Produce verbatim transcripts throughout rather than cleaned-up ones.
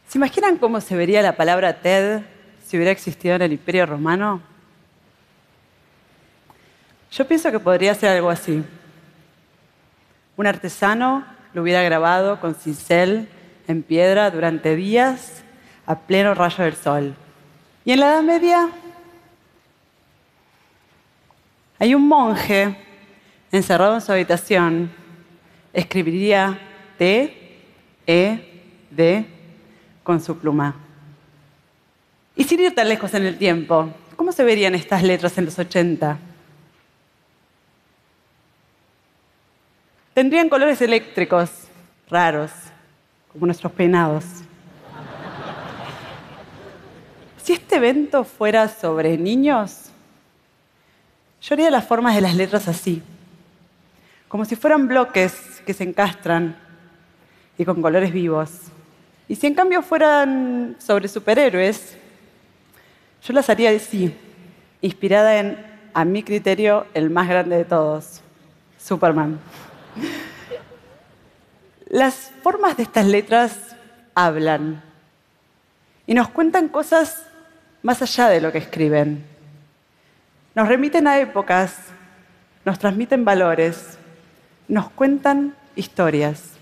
¿Se imaginan cómo se vería la palabra TED si hubiera existido en el Imperio Romano? Yo pienso que podría ser algo así. Un artesano lo hubiera grabado con cincel en piedra durante días a pleno rayo del sol. Y en la Edad Media hay un monje encerrado en su habitación, escribiría T, E, D con su pluma. Y sin ir tan lejos en el tiempo, ¿cómo se verían estas letras en los ochenta? Tendrían colores eléctricos, raros, como nuestros peinados. Si este evento fuera sobre niños, yo haría las formas de las letras así, como si fueran bloques que se encastran y con colores vivos. Y si en cambio fueran sobre superhéroes, yo las haría así, inspirada en, a mi criterio, el más grande de todos, Superman. Las formas de estas letras hablan y nos cuentan cosas más allá de lo que escriben. Nos remiten a épocas, nos transmiten valores, nos cuentan historias.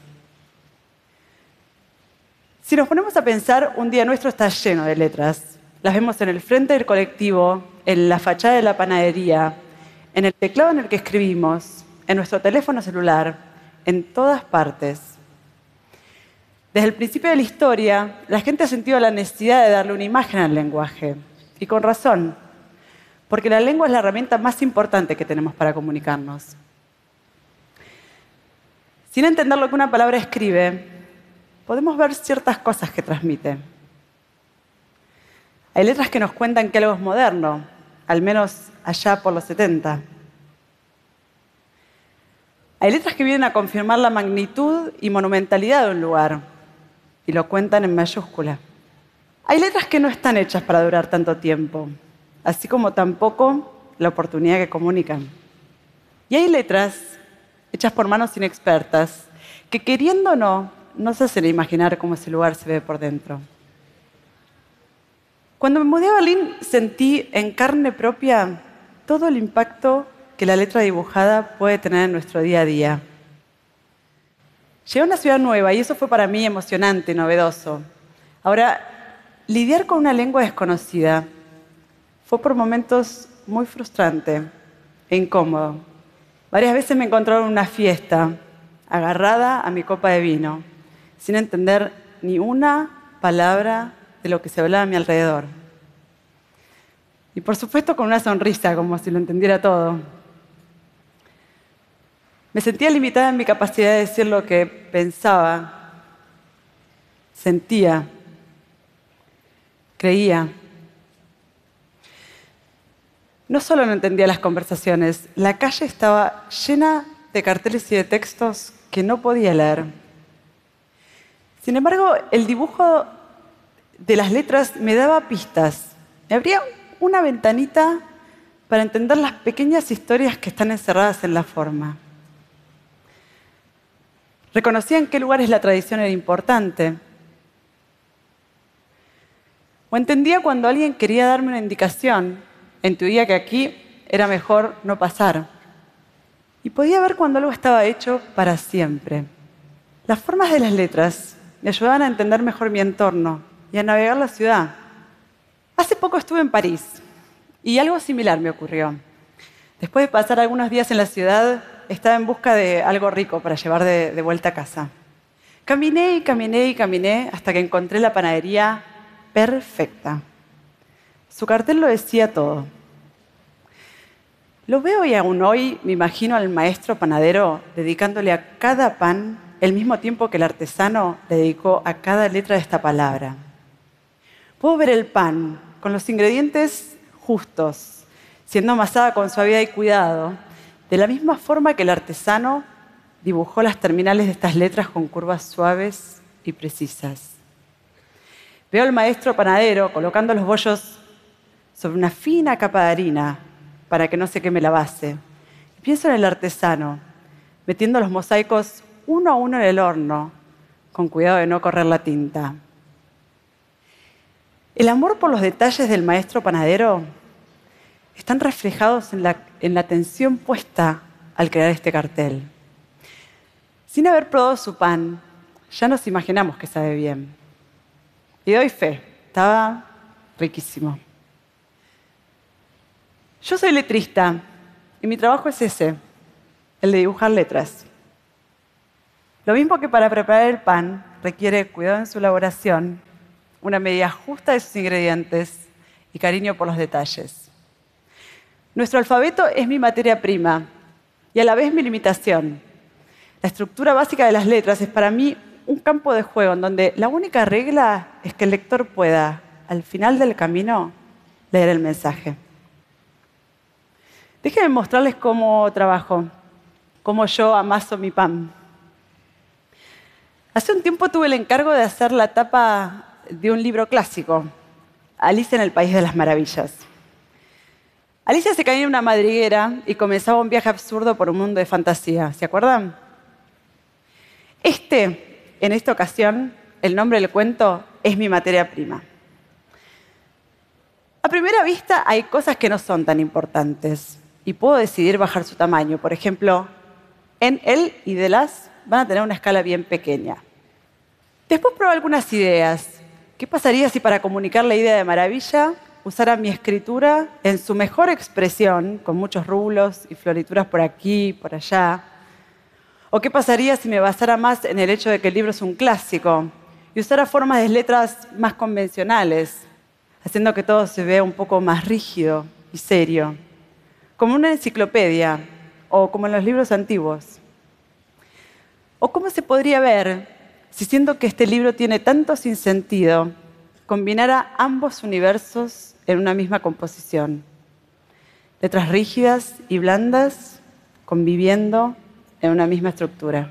Si nos ponemos a pensar, un día nuestro está lleno de letras. Las vemos en el frente del colectivo, en la fachada de la panadería, en el teclado en el que escribimos, en nuestro teléfono celular, en todas partes. Desde el principio de la historia, la gente ha sentido la necesidad de darle una imagen al lenguaje. Y con razón, porque la lengua es la herramienta más importante que tenemos para comunicarnos. Sin entender lo que una palabra escribe, podemos ver ciertas cosas que transmite. Hay letras que nos cuentan que algo es moderno, al menos allá por los setenta. Hay letras que vienen a confirmar la magnitud y monumentalidad de un lugar, y lo cuentan en mayúscula. Hay letras que no están hechas para durar tanto tiempo, así como tampoco la oportunidad que comunican. Y hay letras hechas por manos inexpertas, que queriendo o no, nos hacen imaginar cómo ese lugar se ve por dentro. Cuando me mudé a Berlín, sentí en carne propia todo el impacto que la letra dibujada puede tener en nuestro día a día. Llegué a una ciudad nueva y eso fue para mí emocionante y novedoso. Ahora, lidiar con una lengua desconocida fue por momentos muy frustrante e incómodo. Varias veces me encontraba en una fiesta, agarrada a mi copa de vino, sin entender ni una palabra de lo que se hablaba a mi alrededor. Y por supuesto con una sonrisa, como si lo entendiera todo. Me sentía limitada en mi capacidad de decir lo que pensaba, sentía, creía. No solo no entendía las conversaciones, la calle estaba llena de carteles y de textos que no podía leer. Sin embargo, el dibujo de las letras me daba pistas. Me abría una ventanita para entender las pequeñas historias que están encerradas en la forma. Reconocía en qué lugares la tradición era importante. O entendía cuando alguien quería darme una indicación, intuía que aquí era mejor no pasar. Y podía ver cuando algo estaba hecho para siempre. Las formas de las letras me ayudaban a entender mejor mi entorno y a navegar la ciudad. Hace poco estuve en París y algo similar me ocurrió. Después de pasar algunos días en la ciudad, estaba en busca de algo rico para llevar de, de vuelta a casa. Caminé y caminé y caminé hasta que encontré la panadería perfecta. Su cartel lo decía todo. Lo veo y aún hoy me imagino al maestro panadero dedicándole a cada pan el mismo tiempo que el artesano le dedicó a cada letra de esta palabra. Puedo ver el pan con los ingredientes justos, siendo amasada con suavidad y cuidado, de la misma forma que el artesano dibujó las terminales de estas letras con curvas suaves y precisas. Veo al maestro panadero colocando los bollos sobre una fina capa de harina para que no se queme la base. Y pienso en el artesano, metiendo los mosaicos uno a uno en el horno, con cuidado de no correr la tinta. El amor por los detalles del maestro panadero están reflejados en la, en la atención puesta al crear este cartel. Sin haber probado su pan, ya nos imaginamos que sabe bien. Y doy fe, estaba riquísimo. Yo soy letrista y mi trabajo es ese, el de dibujar letras. Lo mismo que para preparar el pan requiere cuidado en su elaboración, una medida justa de sus ingredientes y cariño por los detalles. Nuestro alfabeto es mi materia prima y a la vez mi limitación. La estructura básica de las letras es para mí un campo de juego en donde la única regla es que el lector pueda, al final del camino, leer el mensaje. Déjenme mostrarles cómo trabajo, cómo yo amaso mi pan. Hace un tiempo tuve el encargo de hacer la tapa de un libro clásico, Alicia en el País de las Maravillas. Alicia se caía en una madriguera y comenzaba un viaje absurdo por un mundo de fantasía. ¿Se acuerdan? Este, en esta ocasión, el nombre del cuento es mi materia prima. A primera vista hay cosas que no son tan importantes y puedo decidir bajar su tamaño. Por ejemplo, en él y de las van a tener una escala bien pequeña. Después probé algunas ideas. ¿Qué pasaría si para comunicar la idea de maravilla usara mi escritura en su mejor expresión, con muchos rulos y florituras por aquí y por allá? ¿O qué pasaría si me basara más en el hecho de que el libro es un clásico y usara formas de letras más convencionales, haciendo que todo se vea un poco más rígido y serio, como una enciclopedia o como en los libros antiguos? ¿O cómo se podría ver si, siendo que este libro tiene tanto sinsentido, combinara ambos universos en una misma composición? Letras rígidas y blandas conviviendo en una misma estructura.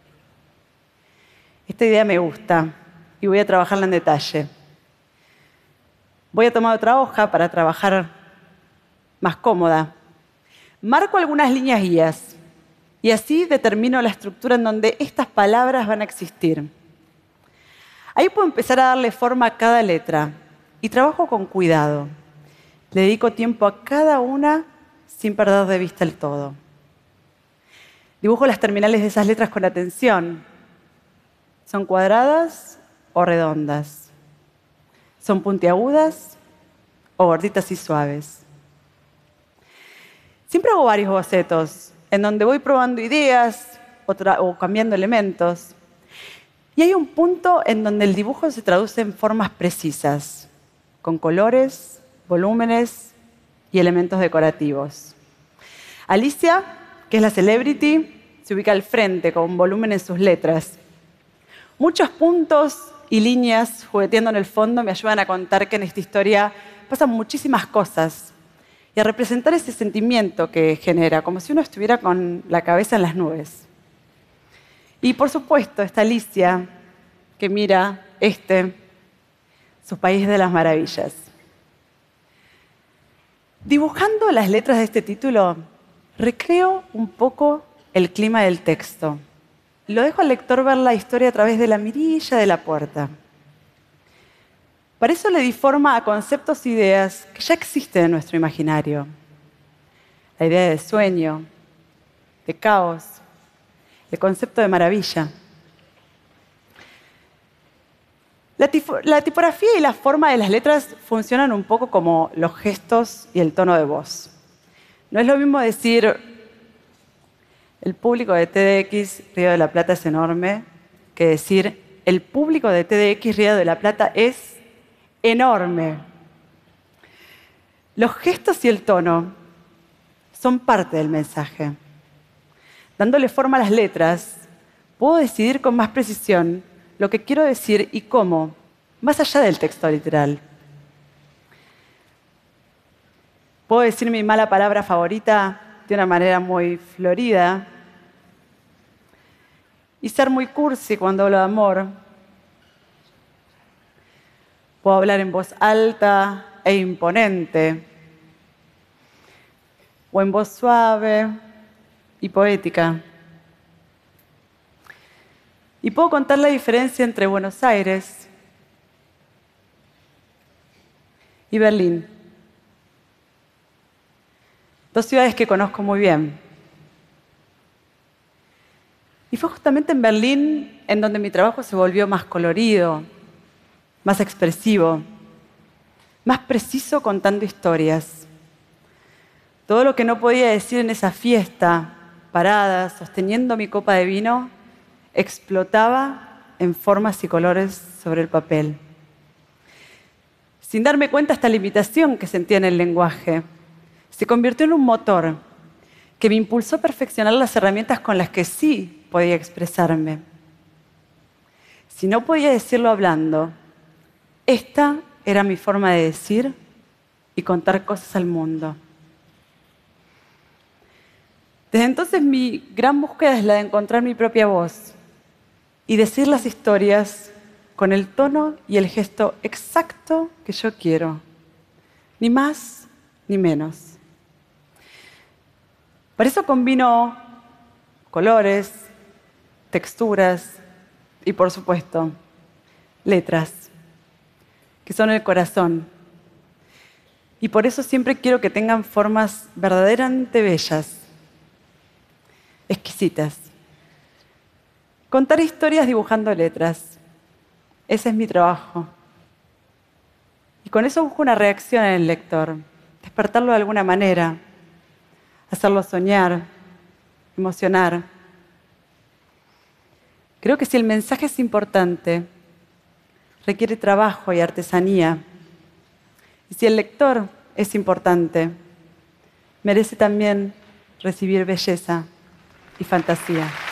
Esta idea me gusta y voy a trabajarla en detalle. Voy a tomar otra hoja para trabajar más cómoda. Marco algunas líneas guías y así determino la estructura en donde estas palabras van a existir. Ahí puedo empezar a darle forma a cada letra y trabajo con cuidado. Le dedico tiempo a cada una sin perder de vista el todo. Dibujo las terminales de esas letras con atención. ¿Son cuadradas o redondas? ¿Son puntiagudas o gorditas y suaves? Siempre hago varios bocetos en donde voy probando ideas o, o cambiando elementos. Y hay un punto en donde el dibujo se traduce en formas precisas, con colores, volúmenes y elementos decorativos. Alicia, que es la celebrity, se ubica al frente con un volumen en sus letras. Muchos puntos y líneas jugueteando en el fondo me ayudan a contar que en esta historia pasan muchísimas cosas y a representar ese sentimiento que genera, como si uno estuviera con la cabeza en las nubes. Y por supuesto está Alicia, que mira este, su país de las maravillas. Dibujando las letras de este título, recreo un poco el clima del texto. Lo dejo al lector ver la historia a través de la mirilla de la puerta. Para eso le di forma a conceptos e ideas que ya existen en nuestro imaginario. La idea de sueño, de caos, el concepto de maravilla. La, la tipografía y la forma de las letras funcionan un poco como los gestos y el tono de voz. No es lo mismo decir el público de T D X Río de la Plata es enorme que decir el público de T D X Río de la Plata es enorme. Los gestos y el tono son parte del mensaje. Dándole forma a las letras, puedo decidir con más precisión lo que quiero decir y cómo, más allá del texto literal. Puedo decir mi mala palabra favorita de una manera muy florida y ser muy cursi cuando hablo de amor. Puedo hablar en voz alta e imponente, o en voz suave y poética. Y puedo contar la diferencia entre Buenos Aires y Berlín. Dos ciudades que conozco muy bien. Y fue justamente en Berlín en donde mi trabajo se volvió más colorido, más expresivo, más preciso contando historias. Todo lo que no podía decir en esa fiesta, parada, sosteniendo mi copa de vino, explotaba en formas y colores sobre el papel. Sin darme cuenta, esta limitación que sentía en el lenguaje se convirtió en un motor que me impulsó a perfeccionar las herramientas con las que sí podía expresarme. Si no podía decirlo hablando, esta era mi forma de decir y contar cosas al mundo. Desde entonces mi gran búsqueda es la de encontrar mi propia voz y decir las historias con el tono y el gesto exacto que yo quiero, ni más ni menos. Por eso combino colores, texturas y, por supuesto, letras, que son el corazón. Y por eso siempre quiero que tengan formas verdaderamente bellas, exquisitas. Contar historias dibujando letras. Ese es mi trabajo. Y con eso busco una reacción en el lector, despertarlo de alguna manera, hacerlo soñar, emocionar. Creo que si el mensaje es importante, requiere trabajo y artesanía. Y si el lector es importante, merece también recibir belleza y fantasía.